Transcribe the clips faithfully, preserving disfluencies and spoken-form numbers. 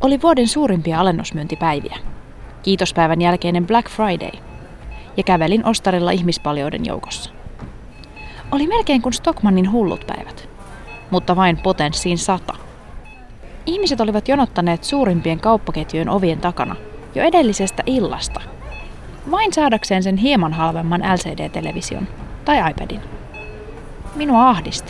Oli vuoden suurimpia alennusmyyntipäiviä. Kiitospäivän jälkeinen Black Friday. Ja kävelin ostarilla ihmispaljouden joukossa. Oli melkein kuin Stockmannin hullut päivät, mutta vain potenssiin sata. Ihmiset olivat jonottaneet suurimpien kauppaketjujen ovien takana jo edellisestä illasta, vain saadakseen sen hieman halvemman L C D-television tai iPadin. Minua ahdisti.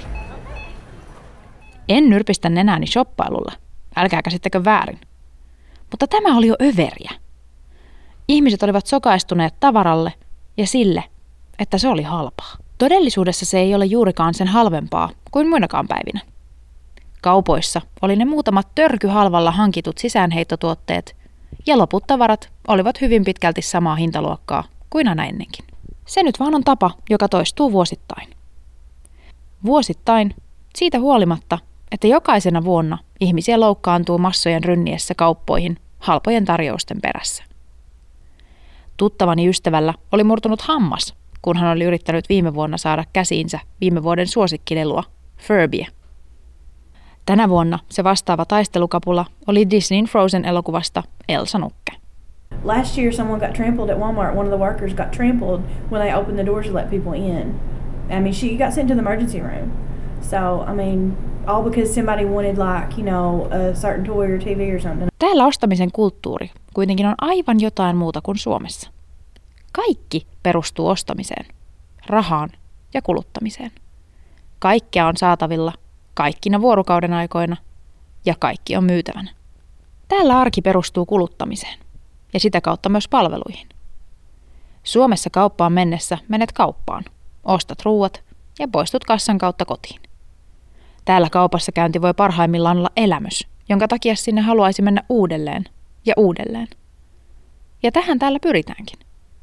En nyrpistä nenääni shoppailulla, älkää käsittäkö väärin. Mutta tämä oli jo överiä. Ihmiset olivat sokaistuneet tavaralle ja sille, että se oli halpaa. Todellisuudessa se ei ole juurikaan sen halvempaa kuin muinakaan päivinä. Kaupoissa oli ne muutamat törkyhalvalla hankitut sisäänheittotuotteet, ja loput tavarat olivat hyvin pitkälti samaa hintaluokkaa kuin aina ennenkin. Se nyt vaan on tapa, joka toistuu vuosittain. Vuosittain, siitä huolimatta, että jokaisena vuonna ihmisiä loukkaantuu massojen rynniessä kauppoihin halpojen tarjousten perässä. Tuttavani ystävällä oli murtunut hammas, kun hän oli yrittänyt viime vuonna saada käsiinsä viime vuoden suosikkilelua, Furbyä. Tänä vuonna se vastaava taistelukapula oli Disneyn Frozen-elokuvasta Elsa Nukke. Last year someone got trampled at Walmart. One of the workers got trampled when they opened the doors to let people in. I mean, she got sent to the emergency room. So, I mean, all because somebody wanted like, you know, a certain toy or T V or something. Täällä ostamisen kulttuuri kuitenkin on aivan jotain muuta kuin Suomessa. Kaikki perustuu ostamiseen, rahaan ja kuluttamiseen. Kaikkea on saatavilla kaikkina vuorokauden aikoina ja kaikki on myytävänä. Täällä arki perustuu kuluttamiseen ja sitä kautta myös palveluihin. Suomessa kauppaan mennessä menet kauppaan, ostat ruuat ja poistut kassan kautta kotiin. Täällä kaupassa käynti voi parhaimmillaan olla elämys, jonka takia sinne haluaisi mennä uudelleen ja uudelleen. Ja tähän täällä pyritäänkin.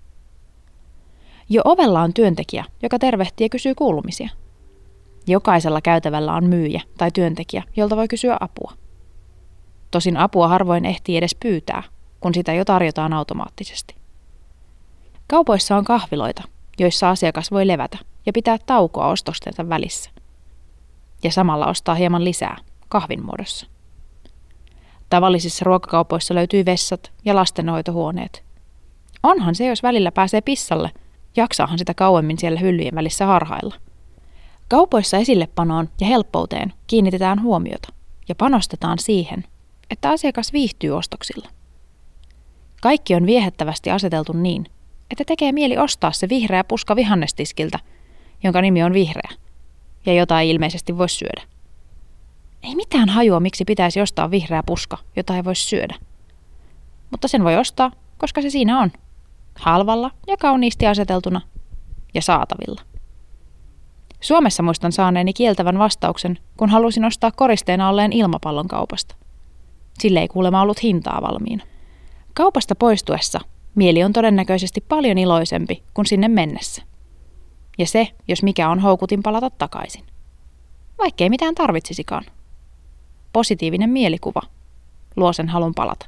Jo ovella on työntekijä, joka tervehtii ja kysyy kuulumisia. Jokaisella käytävällä on myyjä tai työntekijä, jolta voi kysyä apua. Tosin apua harvoin ehtii edes pyytää, kun sitä jo tarjotaan automaattisesti. Kaupoissa on kahviloita, joissa asiakas voi levätä ja pitää taukoa ostostensa välissä. Ja samalla ostaa hieman lisää kahvin muodossa. Tavallisissa ruokakaupoissa löytyy vessat ja lastenhoitohuoneet. Onhan se, jos välillä pääsee pissalle, jaksaahan sitä kauemmin siellä hyllyjen välissä harhailla. Kaupoissa esillepanoon ja helppouteen kiinnitetään huomiota ja panostetaan siihen, että asiakas viihtyy ostoksilla. Kaikki on viehättävästi aseteltu niin, että tekee mieli ostaa se vihreä puska vihannestiskiltä, jonka nimi on vihreä, ja jota ei ilmeisesti voi syödä. Ei mitään hajua, miksi pitäisi ostaa vihreä puska, jota ei voi syödä. Mutta sen voi ostaa, koska se siinä on. Halvalla ja kauniisti aseteltuna ja saatavilla. Suomessa muistan saaneeni kieltävän vastauksen, kun halusin ostaa koristeena olleen ilmapallon kaupasta. Sille ei kuulemma ollut hintaa valmiina. Kaupasta poistuessa mieli on todennäköisesti paljon iloisempi kuin sinne mennessä. Ja se, jos mikä on houkutin palata takaisin. Vaikkei mitään tarvitsisikaan. Positiivinen mielikuva luo sen halun palata.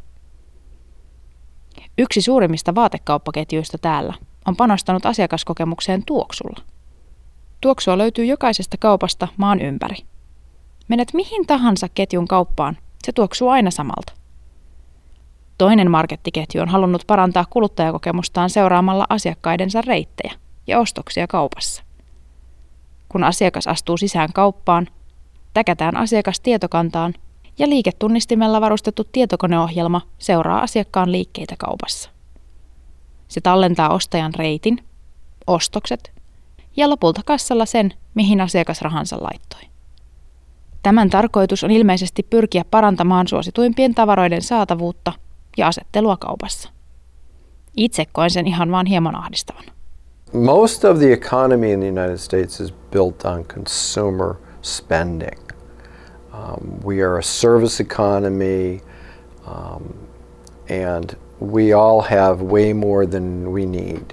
Yksi suurimmista vaatekauppaketjuista täällä on panostanut asiakaskokemukseen tuoksulla. Tuoksua löytyy jokaisesta kaupasta maan ympäri. Menet mihin tahansa ketjun kauppaan, se tuoksuu aina samalta. Toinen markettiketju on halunnut parantaa kuluttajakokemustaan seuraamalla asiakkaidensa reittejä ja ostoksia kaupassa. Kun asiakas astuu sisään kauppaan, täkätään asiakas tietokantaan ja liiketunnistimella varustettu tietokoneohjelma seuraa asiakkaan liikkeitä kaupassa. Se tallentaa ostajan reitin, ostokset ja lopulta kassalla sen, mihin asiakas rahansa laittoi. Tämän tarkoitus on ilmeisesti pyrkiä parantamaan suosituimpien tavaroiden saatavuutta ja asettelua kaupassa. Itse koen sen ihan vaan hieman ahdistavan. Most of the economy in the United States is built on consumer spending. Um, we are a service economy, um, and we all have way more than we need.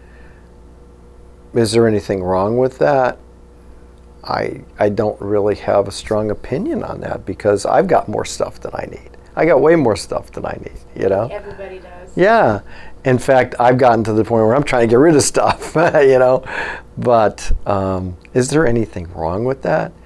Is there anything wrong with that? I I don't really have a strong opinion on that because I've got more stuff than I need. I got way more stuff than I need, you know? Everybody does. Yeah. In fact, I've gotten to the point where I'm trying to get rid of stuff, you know? But um, is there anything wrong with that?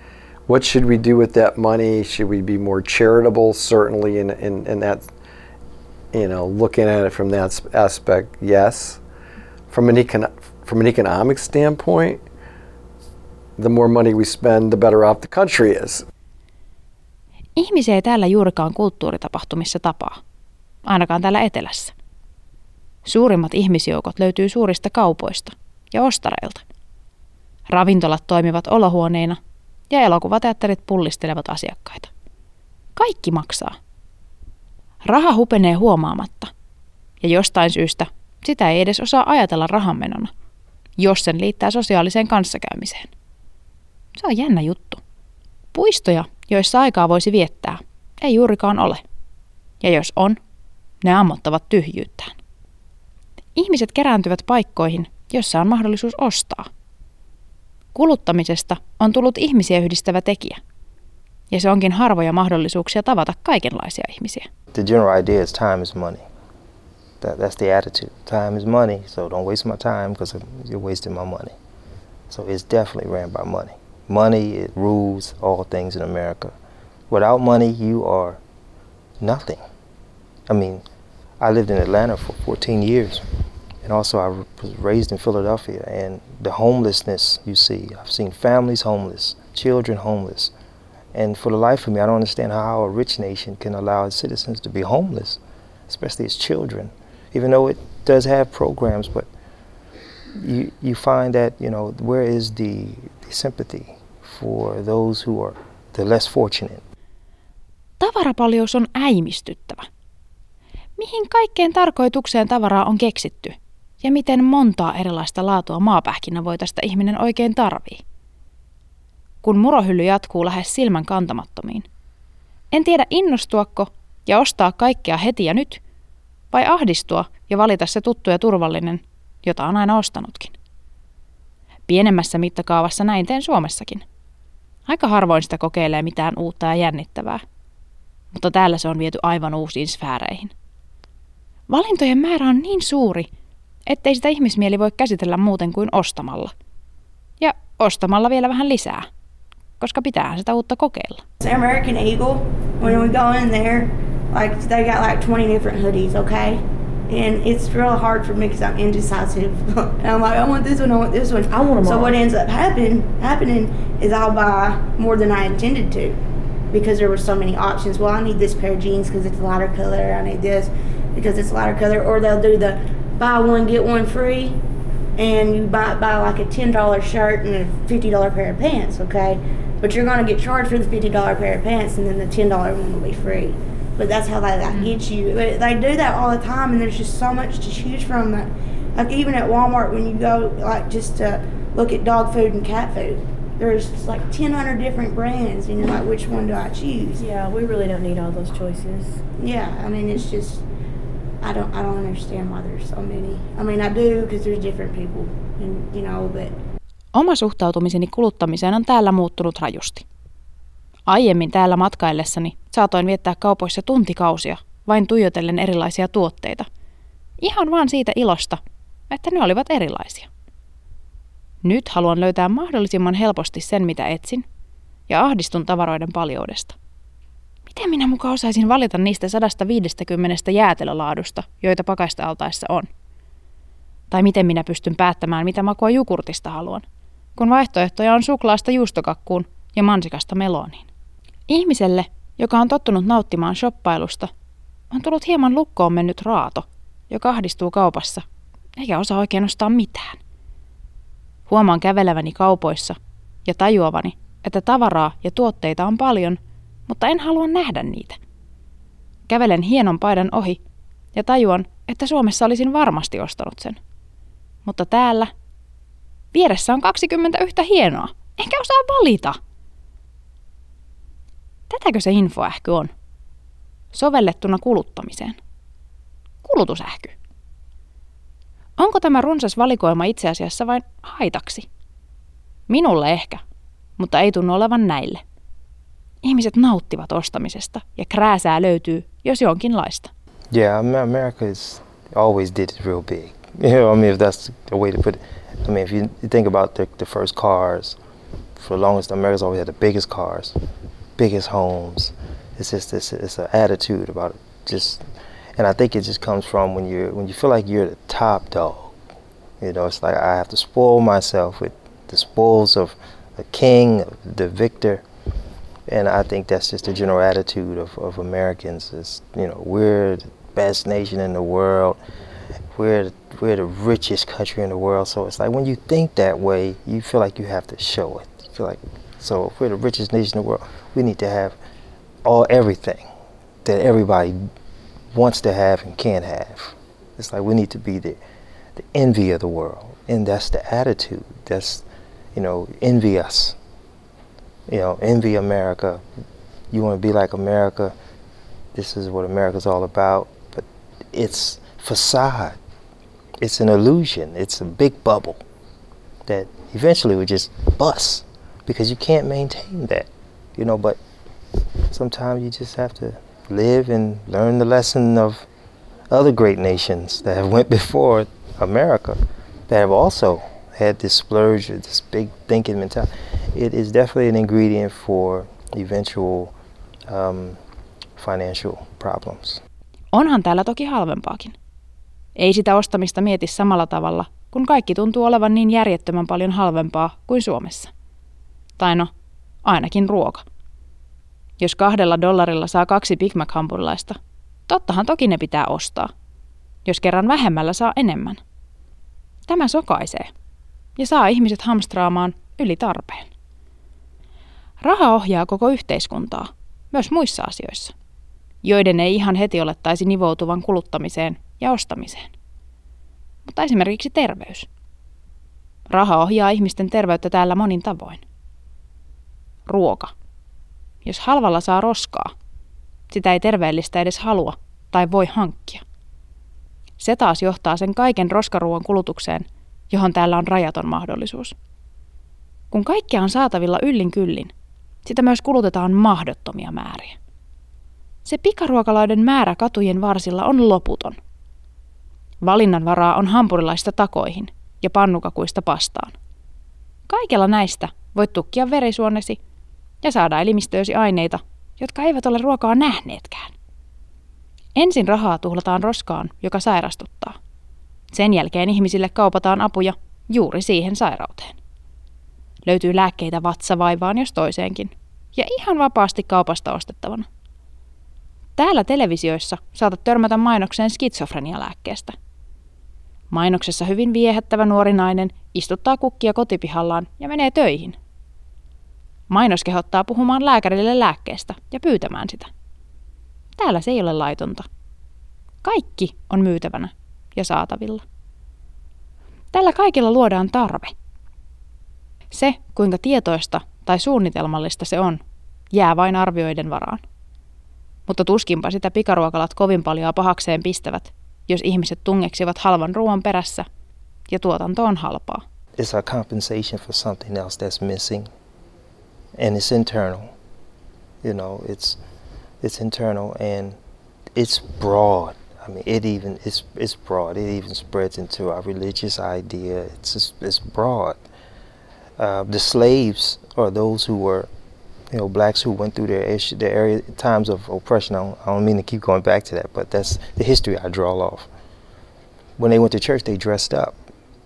What should we do with that money? Should we be more charitable? Certainly in, in, in that, you know, looking at it from that aspect, yes. From an, econ- from an economic standpoint, the more money we spend, the better off the country is. Ihmisiä ei täällä juurikaan kulttuuritapahtumissa tapaa, ainakaan täällä etelässä. Suurimmat ihmisjoukot löytyy suurista kaupoista ja ostareilta. Ravintolat toimivat olohuoneina ja elokuvateatterit pullistelevat asiakkaita. Kaikki maksaa. Raha hupenee huomaamatta, ja jostain syystä sitä ei edes osaa ajatella rahanmenona, jos sen liittää sosiaaliseen kanssakäymiseen. Se on jännä juttu. Puistoja, joissa aikaa voisi viettää, ei juurikaan ole. Ja jos on, ne ammottavat tyhjyyttään. Ihmiset kerääntyvät paikkoihin, joissa on mahdollisuus ostaa. Kuluttamisesta on tullut ihmisiä yhdistävä tekijä. Ja se onkin harvoja mahdollisuuksia tavata kaikenlaisia ihmisiä. The general idea is time is money. That, that's the attitude. Time is money, so don't waste my time because you're wasting my money. So it's definitely ran by money. Money, it rules all things in America. Without money, you are nothing. I mean, I lived in Atlanta for fourteen years. And also I was raised in Philadelphia, and the homelessness you see, I've seen families homeless, children homeless. And for the life of me, I don't understand how a rich nation can allow its citizens to be homeless, especially its children, even though it does have programs, but you you find that, you know, where is the, the sympathy for those who are the less fortunate? Tavarapaljous on äimistyttävä. Mihin kaikkeen tarkoitukseen tavaraa on keksitty? Ja miten montaa erilaista laatua maapähkinävoitasta ihminen oikein tarvii? Kun murohylly jatkuu lähes silmän kantamattomiin. En tiedä innostuako ja ostaa kaikkea heti ja nyt, vai ahdistua ja valita se tuttu ja turvallinen, jota on aina ostanutkin. Pienemmässä mittakaavassa näin teen Suomessakin. Aika harvoin sitä kokeilee mitään uutta ja jännittävää, mutta täällä se on viety aivan uusiin sfääreihin. Valintojen määrä on niin suuri, ettei sitä ihmismieli voi käsitellä muuten kuin ostamalla. Ja ostamalla vielä vähän lisää, koska pitäähän sitä uutta kokeilla. American Eagle, when we go in there, like they got like twenty different hoodies, okay? And it's real hard for me because I'm indecisive. And I'm like, I want this one, I want this one. I want them So all. What ends up happen, happening is I'll buy more than I intended to because there were so many options. Well, I need this pair of jeans because it's a lighter color. I need this because it's a lighter color. Or they'll do the buy one, get one free. And you buy, buy like a ten dollar shirt and a fifty dollar pair of pants, okay? But you're going to get charged for the fifty dollar pair of pants and then the ten dollar one will be free. But that's how they like, get you. But they do that all the time, and there's just so much to choose from. That, like even at Walmart, when you go like just to look at dog food and cat food, there's like ten hundred different brands, and you're like, which one do I choose? Yeah, we really don't need all those choices. Yeah, I mean it's just, I don't, I don't understand why there's so many. I mean I do because there's different people, and you know, but. Oma suhtautumiseni kuluttamiseen on täällä muuttunut rajusti. Aiemmin täällä matkaillessani saatoin viettää kaupoissa tuntikausia vain tuijotellen erilaisia tuotteita. Ihan vaan siitä ilosta, että ne olivat erilaisia. Nyt haluan löytää mahdollisimman helposti sen, mitä etsin, ja ahdistun tavaroiden paljoudesta. Miten minä muka osaisin valita niistä sata viisikymmentä jäätelölaadusta, joita pakastealtaissa on? Tai miten minä pystyn päättämään, mitä makua jogurtista haluan, kun vaihtoehtoja on suklaasta juustokakkuun ja mansikasta meloniin. Ihmiselle, joka on tottunut nauttimaan shoppailusta, on tullut hieman lukkoon mennyt raato, joka ahdistuu kaupassa, eikä osaa oikein ostaa mitään. Huomaan käveleväni kaupoissa ja tajuavani, että tavaraa ja tuotteita on paljon, mutta en halua nähdä niitä. Kävelen hienon paidan ohi ja tajuan, että Suomessa olisin varmasti ostanut sen. Mutta täällä vieressä on kaksikymmentä yhtä hienoa, enkä osaa valita. Tätäkö se infoähky on? Sovellettuna kuluttamiseen. Kulutusähky. Onko tämä runsas valikoima itse asiassa vain haitaksi? Minulle ehkä, mutta ei tunnu olevan näille. Ihmiset nauttivat ostamisesta ja krääsää löytyy, jos jonkinlaista. Yeah, America is always did it real big. You know, I mean, if that's the way to put it. I mean, if you think about the, the first cars, for the longest, America's always had the biggest cars, biggest homes. It's just this, it's an attitude about it. Just, and I think it just comes from when you when you feel like you're the top dog. You know, it's like I have to spoil myself with the spoils of the king, the victor. And I think that's just the general attitude of, of Americans. Is, you know, we're the best nation in the world. We're we're the richest country in the world. So it's like when you think that way, you feel like you have to show it. You feel like, so if we're the richest nation in the world, we need to have all everything that everybody wants to have and can't have. It's like we need to be the the envy of the world, and that's the attitude. That's, you know, envy us. You know, envy America. You want to be like America. This is what America's all about. But it's facade. It's an illusion. It's a big bubble that eventually would just bust because you can't maintain that. You know, but sometimes you just have to live and learn the lesson of other great nations that have went before America, that have also had this splurge, this big thinking mentality. It is definitely an ingredient for eventual um, financial problems. Onhan täällä toki halvempaakin. Ei sitä ostamista mieti samalla tavalla, kun kaikki tuntuu olevan niin järjettömän paljon halvempaa kuin Suomessa. Tai no, ainakin ruoka. Jos kahdella dollarilla saa kaksi Big Mac-hampurilaista, tottahan toki ne pitää ostaa. Jos kerran vähemmällä saa enemmän. Tämä sokaisee ja saa ihmiset hamstraamaan yli tarpeen. Raha ohjaa koko yhteiskuntaa, myös muissa asioissa, joiden ei ihan heti olettaisi nivoutuvan kuluttamiseen ja ostamiseen. Mutta esimerkiksi terveys. Raha ohjaa ihmisten terveyttä täällä monin tavoin. Ruoka. Jos halvalla saa roskaa, sitä ei terveellistä edes halua tai voi hankkia. Se taas johtaa sen kaiken roskaruuan kulutukseen, johon täällä on rajaton mahdollisuus. Kun kaikkea on saatavilla yllin kyllin, sitä myös kulutetaan mahdottomia määriä. Se pikaruokaloiden määrä katujen varsilla on loputon. Valinnanvaraa on hampurilaista takoihin ja pannukakuista pastaan. Kaikella näistä voit tukkia verisuonesi ja saada elimistöösi aineita, jotka eivät ole ruokaa nähneetkään. Ensin rahaa tuhlataan roskaan, joka sairastuttaa. Sen jälkeen ihmisille kaupataan apuja juuri siihen sairauteen. Löytyy lääkkeitä vatsavaivaan jos toiseenkin, ja ihan vapaasti kaupasta ostettavana. Täällä televisioissa saatat törmätä mainokseen skitsofrenialääkkeestä. Mainoksessa hyvin viehättävä nuori nainen istuttaa kukkia kotipihallaan ja menee töihin. Mainos kehottaa puhumaan lääkärille lääkkeestä ja pyytämään sitä. Täällä se ei ole laitonta. Kaikki on myytävänä ja saatavilla. Tällä kaikilla luodaan tarve. Se, kuinka tietoista tai suunnitelmallista se on, jää vain arvioiden varaan. Mutta tuskinpa sitä pikaruokalat kovin paljon pahakseen pistävät, jos ihmiset tungeksivat halvan ruoan perässä ja tuotanto on halpaa. It's a compensation for something else that's missing, and it's internal. You know, it's it's internal and it's broad. I mean, it even it's it's broad. It even spreads into our religious idea. It's just, it's broad. Uh, the slaves are those who were, you know, blacks who went through their issue, their area times of oppression. I don't, I don't mean to keep going back to that, but that's the history I draw off. When they went to church, they dressed up.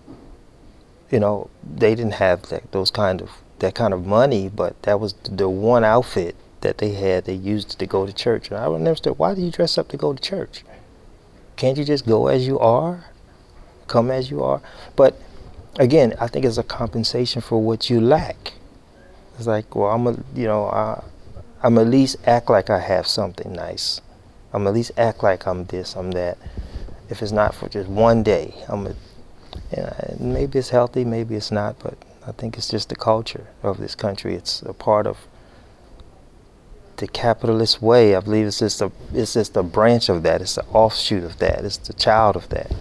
You know, they didn't have that, those kind of that kind of money, but that was the one outfit that they had. They used to go to church, and I would never understand, why do you dress up to go to church? Can't you just go as you are, come as you are? But again, I think it's a compensation for what you lack. It's like, well, I'm a, you know, I, I'm at least act like I have something nice. I'm at least act like I'm this, I'm that. If it's not for just one day, I'm a, you know, maybe it's healthy, maybe it's not, but I think it's just the culture of this country. It's a part of the capitalist way. I believe it's just a, it's just a branch of that. It's an offshoot of that. It's the child of that.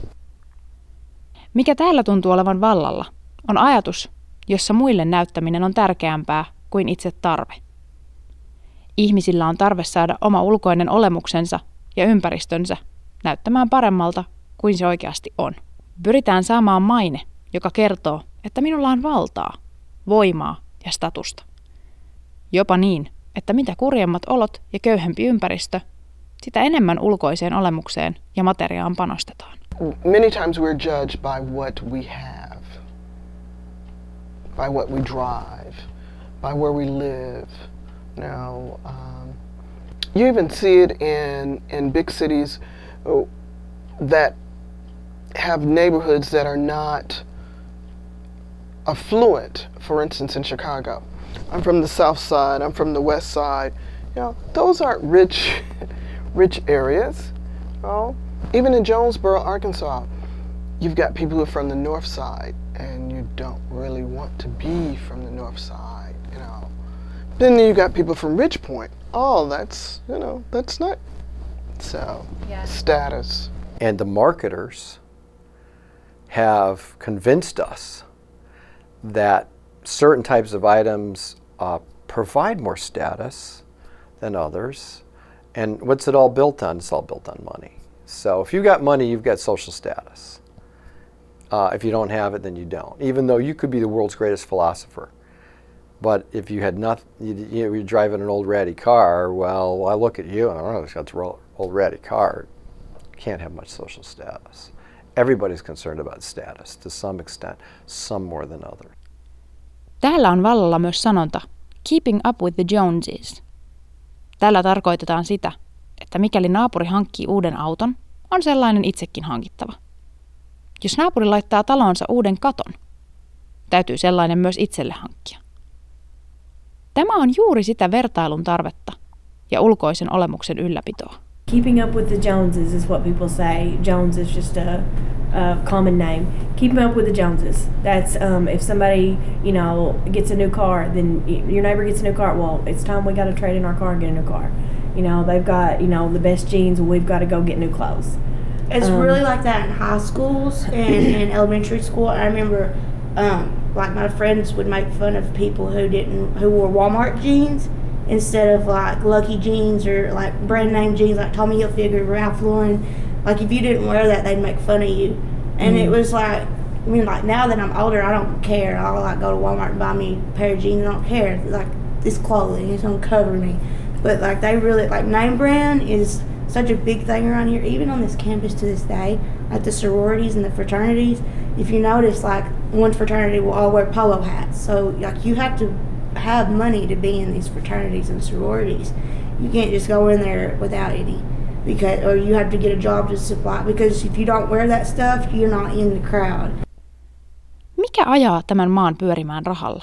Mikä täällä tuntuu olevan vallalla, on ajatus, jossa muille näyttäminen on tärkeämpää kuin itse tarve. Ihmisillä on tarve saada oma ulkoinen olemuksensa ja ympäristönsä näyttämään paremmalta kuin se oikeasti on. Pyritään saamaan maine, joka kertoo, että minulla on valtaa, voimaa ja statusta. Jopa niin, että mitä kurjemmat olot ja köyhempi ympäristö, sitä enemmän ulkoiseen olemukseen ja materiaan panostetaan. Many times we're judged by what we have, by what we drive, by where we live. Now, um, you even see it in, in big cities that have neighborhoods that are not affluent. For instance, in Chicago, I'm from the South Side. I'm from the West Side. You know, those aren't rich, rich areas. You know? Even in Jonesboro, Arkansas, you've got people who are from the North Side, and you don't really want to be from the North Side. You know. Then you got people from Ridgepoint. Oh, that's you know, that's not so yeah. Status. And the marketers have convinced us that certain types of items uh, provide more status than others. And what's it all built on? It's all built on money. So if you got money, you've got social status. Uh, if you don't have it, then you don't. Even though you could be the world's greatest philosopher. But if you had nothing, you, you know, you're driving an old ratty car, well, I look at you and I don't know, it's got an old ratty car. You can't have much social status. Everybody's concerned about status to some extent, some more than others. Täällä on vallalla myös sanonta keeping up with the Joneses. Tällä tarkoitetaan sitä, että mikäli naapuri hankkii uuden auton, on sellainen itsekin hankittava. Jos naapuri laittaa talonsa uuden katon, täytyy sellainen myös itselle hankkia. Tämä on juuri sitä vertailun tarvetta ja ulkoisen olemuksen ylläpitoa. Keeping up with the Joneses is what people say. Jones is just a, a common name. Keeping up with the Joneses. That's um, if somebody, you know, gets a new car, then your neighbor gets a new car. Well, it's time we got to trade in our car and get a new car. You know, they've got, you know, the best jeans. We've got to go get new clothes. It's um, really like that in high schools and in elementary school. I remember, um, like my friends would make fun of people who didn't, who wore Walmart jeans instead of like Lucky jeans or like brand name jeans like Tommy Hilfiger, Ralph Lauren. Like if you didn't wear that, they'd make fun of you. And mm. it was like, I mean, like now that I'm older, I don't care. I'll like go to Walmart and buy me a pair of jeans. I don't care. Like this clothing, it's gonna cover me. But like they really, like name brand is such a big thing around here, even on this campus to this day. Like the sororities and the fraternities, if you notice, like one fraternity will all wear polo hats. So like you have to have money to be in these fraternities and sororities. You can't just go in there without any, because or you have to get a job to supply. Because if you don't wear that stuff, you're not in the crowd. Mikä ajaa tämän maan pyörimään rahalla?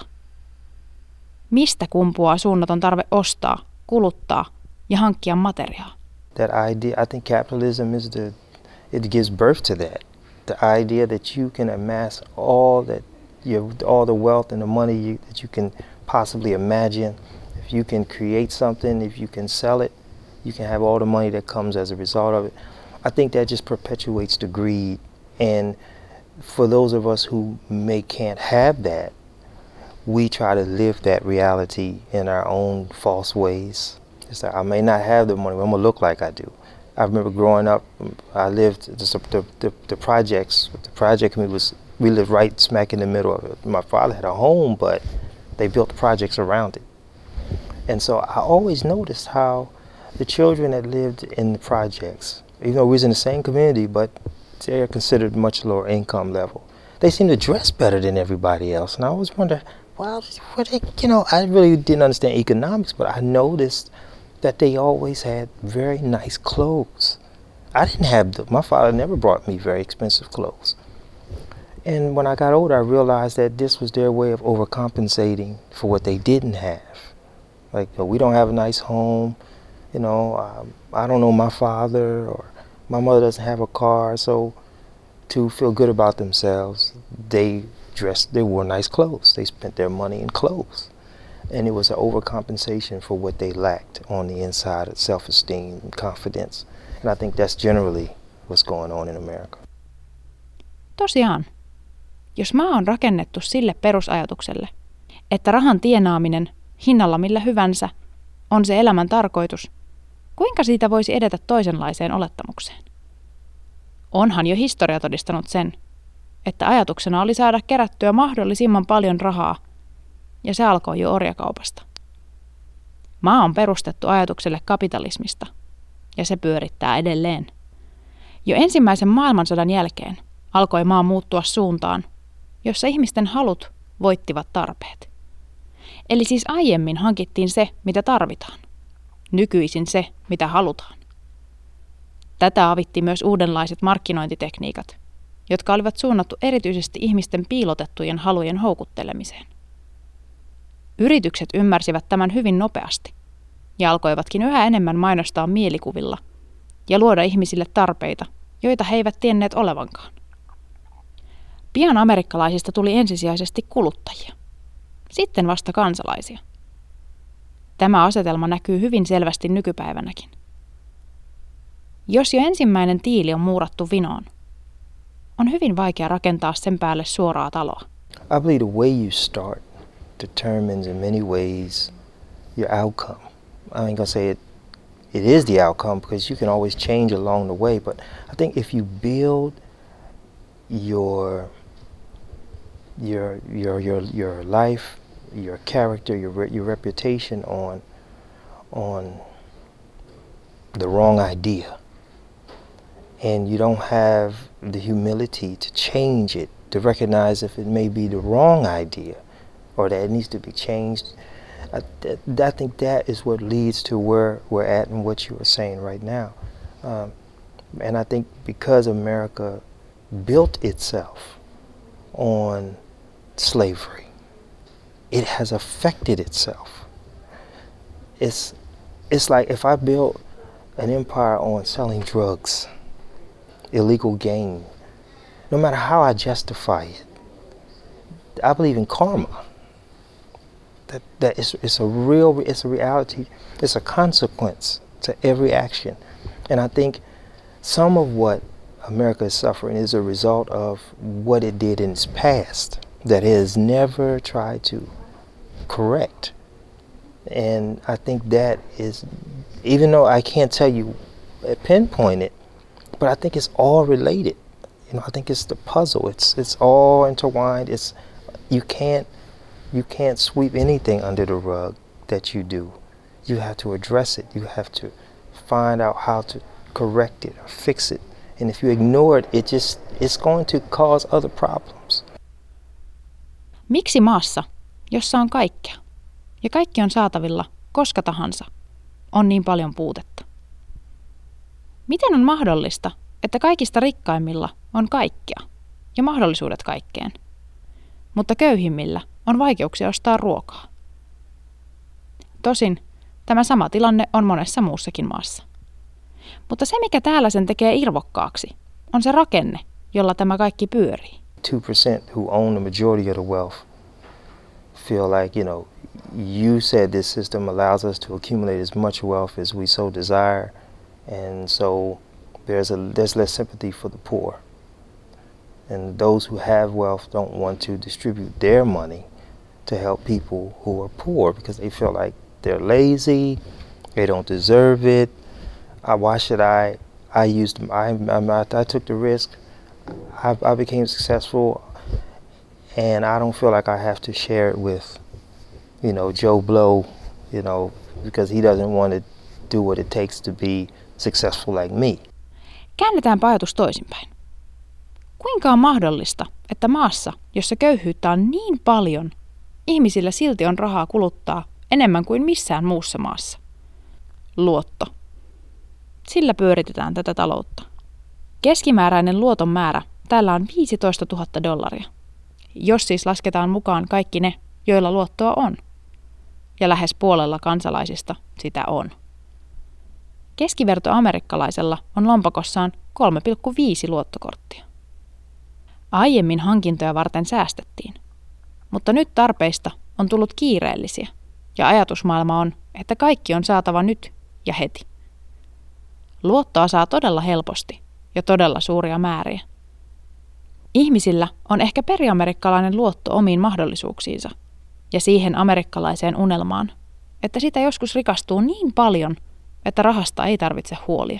Mistä kumpuaa suunnaton tarve ostaa, kuluttaa ja hankkia materiaa? That idea, I think capitalism is the, it gives birth to that. The idea that you can amass all that, you all the wealth and the money you, that you can possibly imagine. If you can create something, if you can sell it, you can have all the money that comes as a result of it. I think that just perpetuates the greed. And for those of us who may can't have that, we try to live that reality in our own false ways. It's like, I may not have the money, but I'm gonna look like I do. I remember growing up, I lived the the, the, the projects. The project community was, we lived right smack in the middle of it. My father had a home, but they built projects around it. And so I always noticed how the children that lived in the projects, even though we was in the same community, but they're considered much lower income level, they seemed to dress better than everybody else. And I always wondered, well, what they, you know, I really didn't understand economics, but I noticed that they always had very nice clothes. I didn't have them. My father never brought me very expensive clothes. And when I got older, I realized that this was their way of overcompensating for what they didn't have. Like, you know, we don't have a nice home, you know, um, I don't know my father, or my mother doesn't have a car, so to feel good about themselves, they dressed, they wore nice clothes. They spent their money in clothes. And it was an overcompensation for what they lacked on the inside of self-esteem and confidence. And I think that's generally what's going on in America. Tosiaan, jos maa on rakennettu sille perusajatukselle, että rahan tienaaminen hinnalla millä hyvänsä on se elämän tarkoitus, kuinka siitä voisi edetä toisenlaiseen olettamukseen? Onhan jo historia todistanut sen, että ajatuksena oli saada kerättyä mahdollisimman paljon rahaa ja se alkoi jo orjakaupasta. Maa on perustettu ajatukselle kapitalismista, ja se pyörittää edelleen. Jo ensimmäisen maailmansodan jälkeen alkoi maa muuttua suuntaan, jossa ihmisten halut voittivat tarpeet. Eli siis aiemmin hankittiin se, mitä tarvitaan. Nykyisin se, mitä halutaan. Tätä avitti myös uudenlaiset markkinointitekniikat, jotka olivat suunnattu erityisesti ihmisten piilotettujen halujen houkuttelemiseen. Yritykset ymmärsivät tämän hyvin nopeasti ja alkoivatkin yhä enemmän mainostaa mielikuvilla ja luoda ihmisille tarpeita, joita he eivät tienneet olevankaan. Pian amerikkalaisista tuli ensisijaisesti kuluttajia, sitten vasta kansalaisia. Tämä asetelma näkyy hyvin selvästi nykypäivänäkin. Jos jo ensimmäinen tiili on muurattu vinoon, on hyvin vaikea rakentaa sen päälle suoraa taloa. I believe the way you start determines in many ways your outcome. I ain't gonna say it, it is the outcome because you can always change along the way, but I think if you build your your your your your life, your character, your re- your reputation on on the wrong idea, and you don't have the humility to change it, to recognize if it may be the wrong idea or that it needs to be changed, I, th- I think that is what leads to where we're at and what you were saying right now. Um, and I think because America built itself on slavery, it has affected itself. It's, it's like if I built an empire on selling drugs, illegal gain, no matter how I justify it, I believe in karma. That that is it's a real it's a reality, it's a consequence to every action. And I think some of what America is suffering is a result of what it did in its past that it has never tried to correct. And I think that is, even though I can't tell you, pinpoint it, but I think it's all related. You know, I think it's the puzzle. It's it's all intertwined. It's you can't you can't sweep anything under the rug that you do. You have to address it. You have to find out how to correct it or fix it. And if you ignore it, it just it's going to cause other problems. Miksi maassa, jossa on kaikkea ja kaikki on saatavilla koska tahansa, on niin paljon puutetta? Miten on mahdollista, että kaikista rikkaimmilla on kaikkea ja mahdollisuudet kaikkeen, mutta köyhimmillä on vaikeuksia ostaa ruokaa? Tosin tämä sama tilanne on monessa muussakin maassa. Mutta se, mikä täällä sen tekee irvokkaaksi, on se rakenne, jolla tämä kaikki pyörii. two percent who own the majority of the wealth feel like, you know, you said this system allows us to accumulate as much wealth as we so desire, and so there's a there's less sympathy for the poor. And those who have wealth don't want to distribute their money to help people who are poor because they feel like they're lazy, they don't deserve it. Uh, why should I? I used I I, I took the risk. I, I became successful, and I don't feel like I have to share it with, you know, Joe Blow, you know, because he doesn't want to do what it takes to be successful like me. Käännetäänpä ajatus toisinpäin. Kuinka on mahdollista, että maassa, jossa köyhyyttä on niin paljon, ihmisillä silti on rahaa kuluttaa enemmän kuin missään muussa maassa? Luotto. Sillä pyöritetään tätä taloutta. Keskimääräinen luoton määrä täällä on viisitoistatuhatta dollaria, jos siis lasketaan mukaan kaikki ne, joilla luottoa on. Ja lähes puolella kansalaisista sitä on. Keskiverto amerikkalaisella on lompakossaan kolme pilkku viisi luottokorttia. Aiemmin hankintoja varten säästettiin, mutta nyt tarpeista on tullut kiireellisiä ja ajatusmaailma on, että kaikki on saatava nyt ja heti. Luottoa saa todella helposti ja todella suuria määriä. Ihmisillä on ehkä periamerikkalainen luotto omiin mahdollisuuksiinsa ja siihen amerikkalaiseen unelmaan, että sitä joskus rikastuu niin paljon, että rahasta ei tarvitse huolia.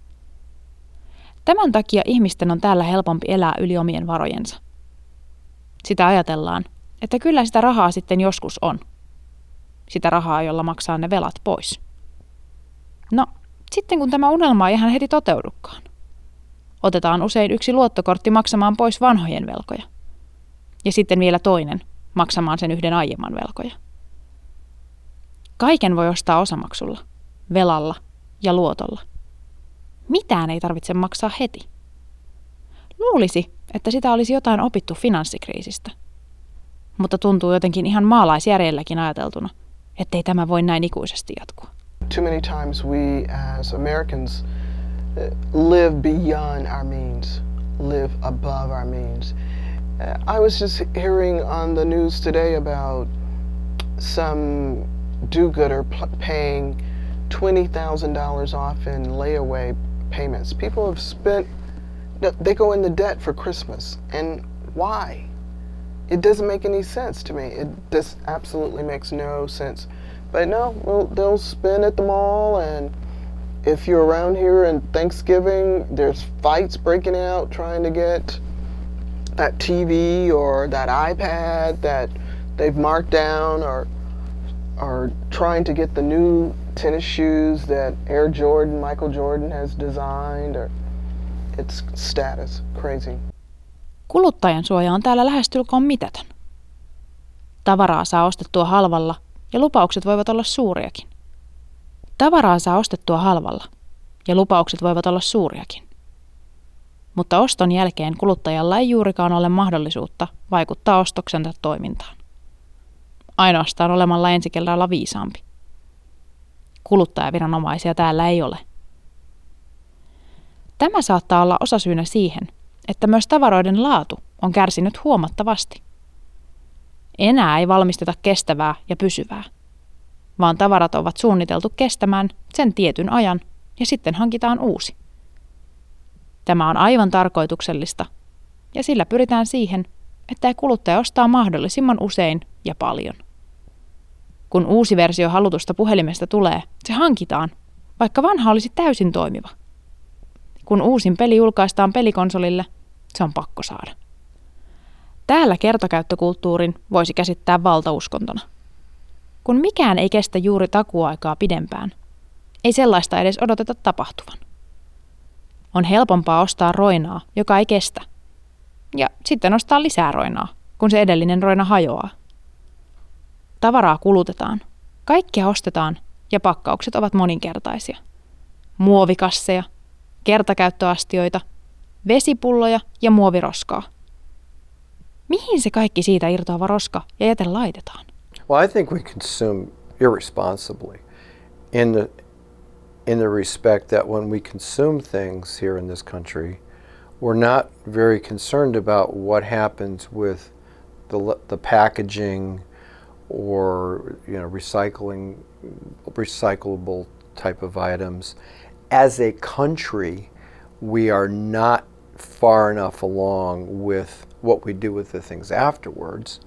Tämän takia ihmisten on täällä helpompi elää yli omien varojensa. Sitä ajatellaan, että kyllä sitä rahaa sitten joskus on. Sitä rahaa, jolla maksaa ne velat pois. No, sitten kun tämä unelma ei ihan heti toteudukaan. Otetaan usein yksi luottokortti maksamaan pois vanhojen velkoja. Ja sitten vielä toinen maksamaan sen yhden aiemman velkoja. Kaiken voi ostaa osamaksulla, velalla ja luotolla. Mitään ei tarvitse maksaa heti. Luulisi, että sitä olisi jotain opittu finanssikriisistä. Mutta tuntuu jotenkin ihan maalaisjärjelläkin ajateltuna, ettei tämä voi näin ikuisesti jatkua. Too many times we as Americans live beyond our means, live above our means. I was just hearing on the news today about some do-gooder paying twenty thousand dollars off in layaway payments. People have spent, they go into debt for Christmas. And why? It doesn't make any sense to me. It just absolutely makes no sense. But no, well, they'll spend at the mall, and if you're around here in Thanksgiving, there's fights breaking out trying to get that T V or that iPad that they've marked down, or or trying to get the new tennis shoes that Air Jordan, Michael Jordan has designed, or it's status, crazy. Kuluttajan suoja on täällä lähestulkoon mitätön. Tavaraa saa ostettua halvalla ja lupaukset voivat olla suuriakin. Tavaraa saa ostettua halvalla ja lupaukset voivat olla suuriakin. Mutta oston jälkeen kuluttajalla ei juurikaan ole mahdollisuutta vaikuttaa ostoksensa toimintaan. Ainoastaan olemalla ensi kerralla viisaampi. Kuluttajaviranomaisia täällä ei ole. Tämä saattaa olla osasyynä siihen, että myös tavaroiden laatu on kärsinyt huomattavasti. Enää ei valmisteta kestävää ja pysyvää, vaan tavarat ovat suunniteltu kestämään sen tietyn ajan ja sitten hankitaan uusi. Tämä on aivan tarkoituksellista ja sillä pyritään siihen, että kuluttaja ostaa mahdollisimman usein ja paljon. Kun uusi versio halutusta puhelimesta tulee, se hankitaan, vaikka vanha olisi täysin toimiva. Kun uusin peli julkaistaan pelikonsolille, se on pakko saada. Täällä kertakäyttökulttuurin voisi käsittää valtauskontona. Kun mikään ei kestä juuri takuaikaa pidempään, ei sellaista edes odoteta tapahtuvan. On helpompaa ostaa roinaa, joka ei kestä, ja sitten ostaa lisää roinaa, kun se edellinen roina hajoaa. Tavaraa kulutetaan, kaikkea ostetaan ja pakkaukset ovat moninkertaisia. Muovikasseja, kertakäyttöastioita, vesipulloja ja muoviroskaa. Mihin se kaikki siitä irtoava roska ja jäte laitetaan? Well, I think we consume irresponsibly in the in the respect that when we consume things here in this country, we're not very concerned about what happens with the the packaging or you know recycling recyclable type of items. As a country, we are not far enough along with what we do with the things afterwards.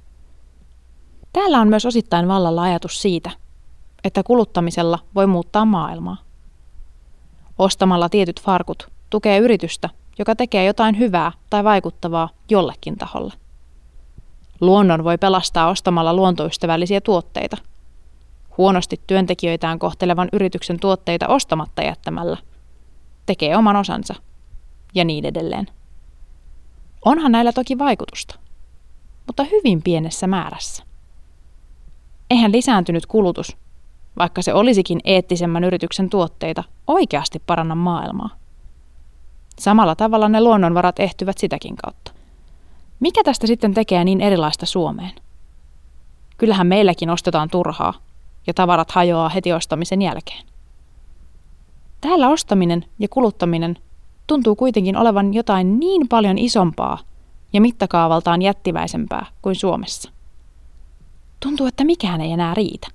Täällä on myös osittain vallalla ajatus siitä, että kuluttamisella voi muuttaa maailmaa. Ostamalla tietyt farkut tukee yritystä, joka tekee jotain hyvää tai vaikuttavaa jollekin taholle. Luonnon voi pelastaa ostamalla luontoystävällisiä tuotteita. Huonosti työntekijöitään kohtelevan yrityksen tuotteita ostamatta jättämällä tekee oman osansa ja niin edelleen. Onhan näillä toki vaikutusta, mutta hyvin pienessä määrässä. Eihän lisääntynyt kulutus, vaikka se olisikin eettisemmän yrityksen tuotteita, oikeasti paranna maailmaa. Samalla tavalla ne luonnonvarat ehtyvät sitäkin kautta. Mikä tästä sitten tekee niin erilaista Suomeen? Kyllähän meilläkin ostetaan turhaa ja tavarat hajoaa heti ostamisen jälkeen. Täällä ostaminen ja kuluttaminen tuntuu kuitenkin olevan jotain niin paljon isompaa ja mittakaavaltaan jättiväisempää kuin Suomessa. Tuntuu, että mikään ei enää riitä.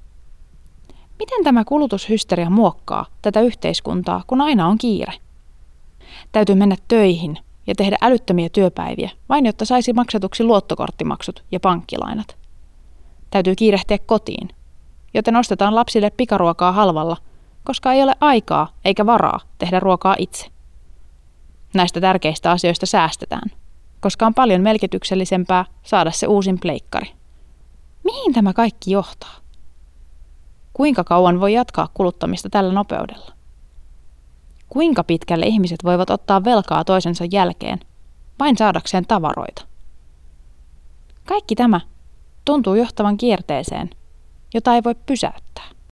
Miten tämä kulutushysteria muokkaa tätä yhteiskuntaa, kun aina on kiire? Täytyy mennä töihin ja tehdä älyttömiä työpäiviä, vain jotta saisi maksetuksi luottokorttimaksut ja pankkilainat. Täytyy kiirehtiä kotiin, joten ostetaan lapsille pikaruokaa halvalla, koska ei ole aikaa eikä varaa tehdä ruokaa itse. Näistä tärkeistä asioista säästetään, koska on paljon merkityksellisempää saada se uusin pleikkari. Mihin tämä kaikki johtaa? Kuinka kauan voi jatkaa kuluttamista tällä nopeudella? Kuinka pitkälle ihmiset voivat ottaa velkaa toisensa jälkeen, vain saadakseen tavaroita? Kaikki tämä tuntuu johtavan kierteeseen, jota ei voi pysäyttää.